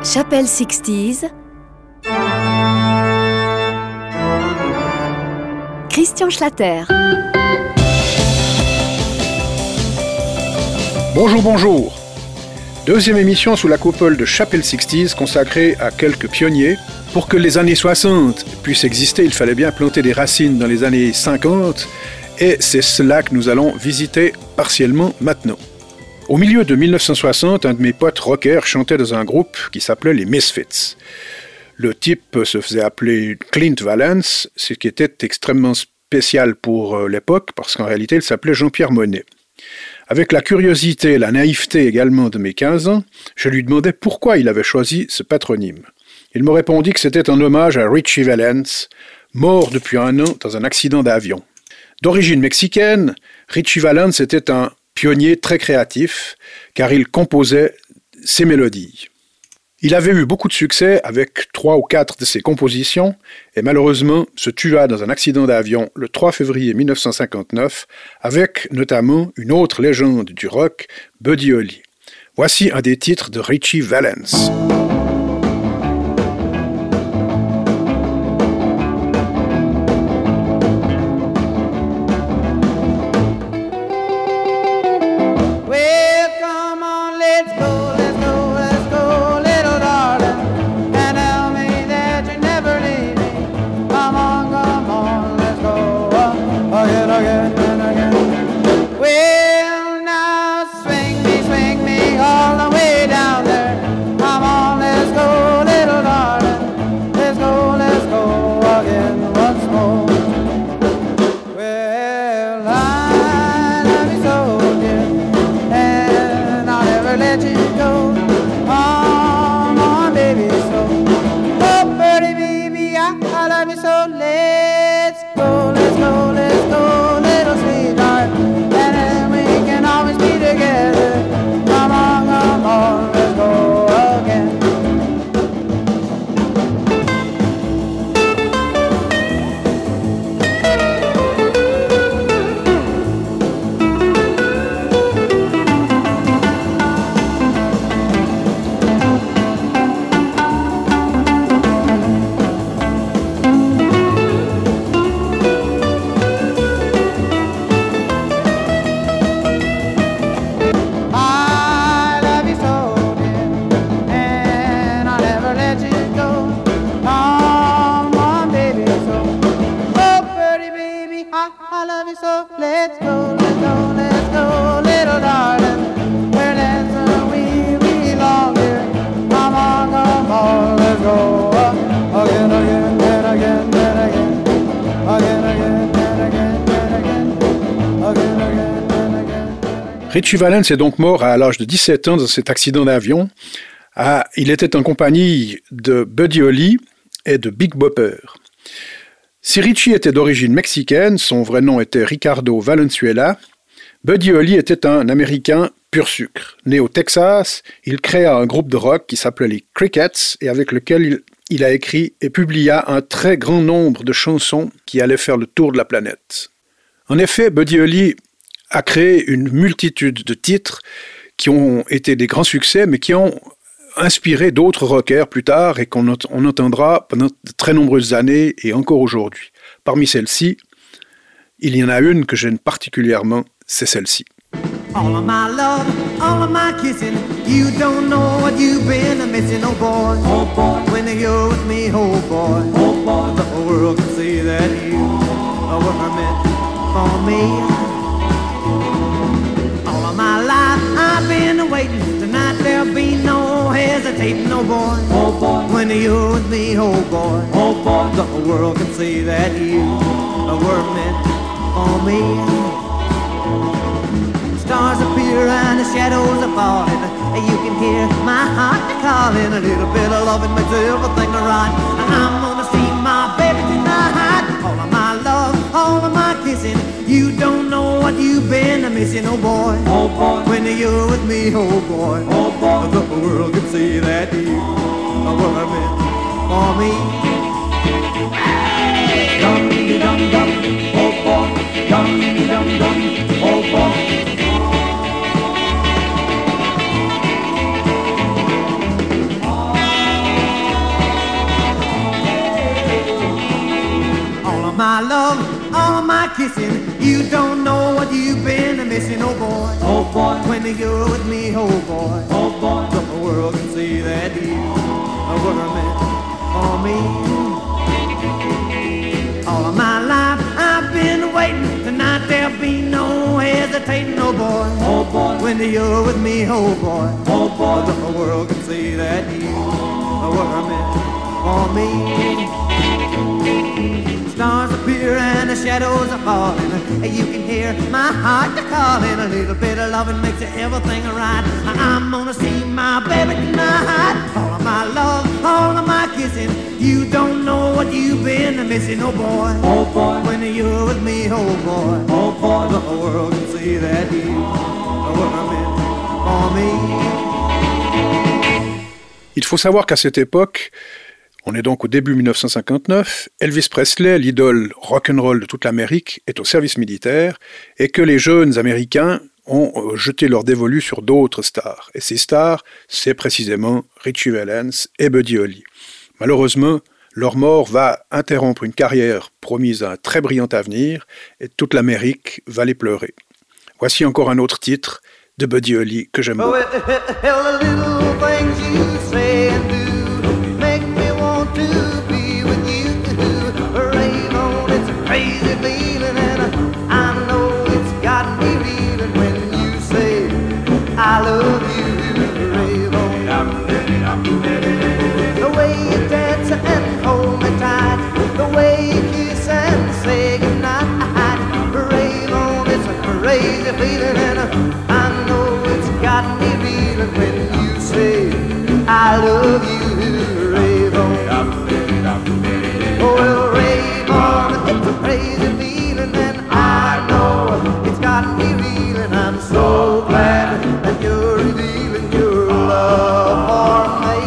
Chapelle 60s. Christian Schlatter. Bonjour. Deuxième émission sous la coupole de Chapelle 60s consacrée à quelques pionniers. Pour que les années 60 puissent exister, il fallait bien planter des racines dans les années 50 et c'est cela que nous allons visiter partiellement maintenant. Au milieu de 1960, un de mes potes rockers chantait dans un groupe qui s'appelait les Misfits. Le type se faisait appeler Clint Valance, ce qui était extrêmement spécial pour l'époque parce qu'en réalité il s'appelait Jean-Pierre Monet. Avec la curiosité et la naïveté également de mes 15 ans, je lui demandais pourquoi il avait choisi ce patronyme. Il me répondit que c'était un hommage à Ritchie Valens, mort depuis un an dans un accident d'avion. D'origine mexicaine, Ritchie Valens était un pionnier très créatif, car il composait ses mélodies. Il avait eu beaucoup de succès avec 3 ou 4 de ses compositions, et malheureusement se tua dans un accident d'avion le 3 février 1959, avec notamment une autre légende du rock, Buddy Holly. Voici un des titres de Ritchie Valens. Ritchie Valens est donc mort à l'âge de 17 ans dans cet accident d'avion. Il était en compagnie de Buddy Holly et de Big Bopper. Si Ritchie était d'origine mexicaine, son vrai nom était Ricardo Valenzuela, Buddy Holly était un Américain pur sucre. Né au Texas, il créa un groupe de rock qui s'appelait les Crickets et avec lequel il a écrit et publia un très grand nombre de chansons qui allaient faire le tour de la planète. En effet, Buddy Holly a créé une multitude de titres qui ont été des grands succès, mais qui ont inspiré d'autres rockers plus tard et qu'on entendra pendant de très nombreuses années et encore aujourd'hui. Parmi celles-ci, il y en a une que j'aime particulièrement, c'est celle-ci. All of my love, all of my kissing, you don't know what you've been missing, oh boy, when you're with me, oh boy, the whole world can see that you were meant for me. My life I've been waiting. Tonight there'll be no hesitating, oh boy. When you're with me, oh boy, the whole world can see that you were meant for me. Stars appear and the shadows are falling. You can hear my heart calling. A little bit of loving makes everything right. I'm gonna see my baby tonight. All of my love, all of my kissing. You don't know what you've been missing, oh boy. When you're with me, oh boy, the whole world can see that you were meant for me. Dum dum dum, oh boy, dum dum dum, oh boy. kissing. You don't know what you've been missing, oh boy. Oh boy, When you're with me, oh boy. oh boy, The world can see that you are what I meant for me. All of my life I've been waiting. Tonight there'll be no hesitating, oh boy. oh boy, When you're with me, oh boy. oh boy, The world can see that you are what I meant for me. Stars appear and the shadows are falling. You can hear my heart calling. A little bit of loving makes everything right. I'm gonna see my baby tonight. All of my love, all of my kissing. You don't know what you've been missing, oh boy. oh boy, When you're with me, oh boy. oh boy, The world can see that you are what I meant for me. Il faut savoir qu'à cette époque, on est donc au début 1959, Elvis Presley, l'idole rock'n'roll de toute l'Amérique, est au service militaire et que les jeunes Américains ont jeté leur dévolu sur d'autres stars. Et ces stars, c'est précisément Ritchie Valens et Buddy Holly. Malheureusement, leur mort va interrompre une carrière promise à un très brillant avenir et toute l'Amérique va les pleurer. Voici encore un autre titre de Buddy Holly que j'aime beaucoup. Oh, the little things you say and do make me want to be with you. Rave on, it's a crazy feeling, and I know it's got me reeling when you say I love you. Rave on. The way you dance and hold me tight, the way you kiss and say goodnight. Rave on, it's a crazy feeling, and I know it's got me reeling when you say I love you. Rave on. Oh, well, rave on, it's a crazy feeling, and I know it's got me reeling. I'm so glad that you're revealing your love for me.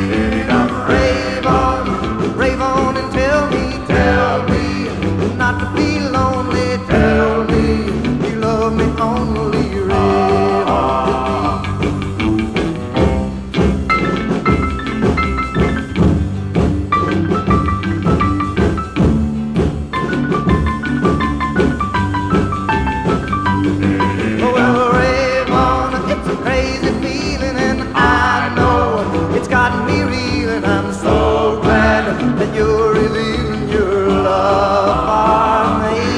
Rave on and tell me not to be lonely. Tell me you love me only. Rave on. Oh, well, rave on, it's a crazy feeling, and I know it's got me reeling. I'm so glad that you're revealing your love for me.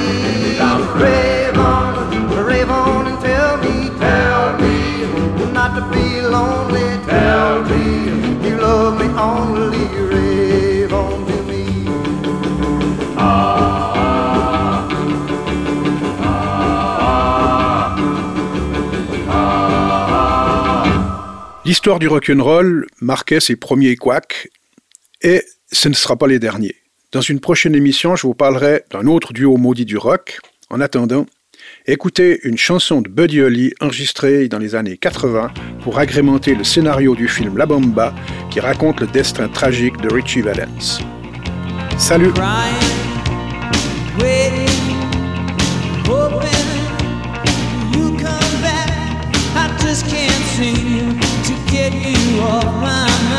Rave on and tell me not to be lonely. Tell me you love me only. Rave on to me. L'histoire du rock'n'roll marquait ses premiers couacs et ce ne sera pas les derniers. Dans une prochaine émission, je vous parlerai d'un autre duo maudit du rock. En attendant, écoutez une chanson de Buddy Holly enregistrée dans les années 80 pour agrémenter le scénario du film La Bamba qui raconte le destin tragique de Ritchie Valens. Salut! Just can't seem to get you off my mind.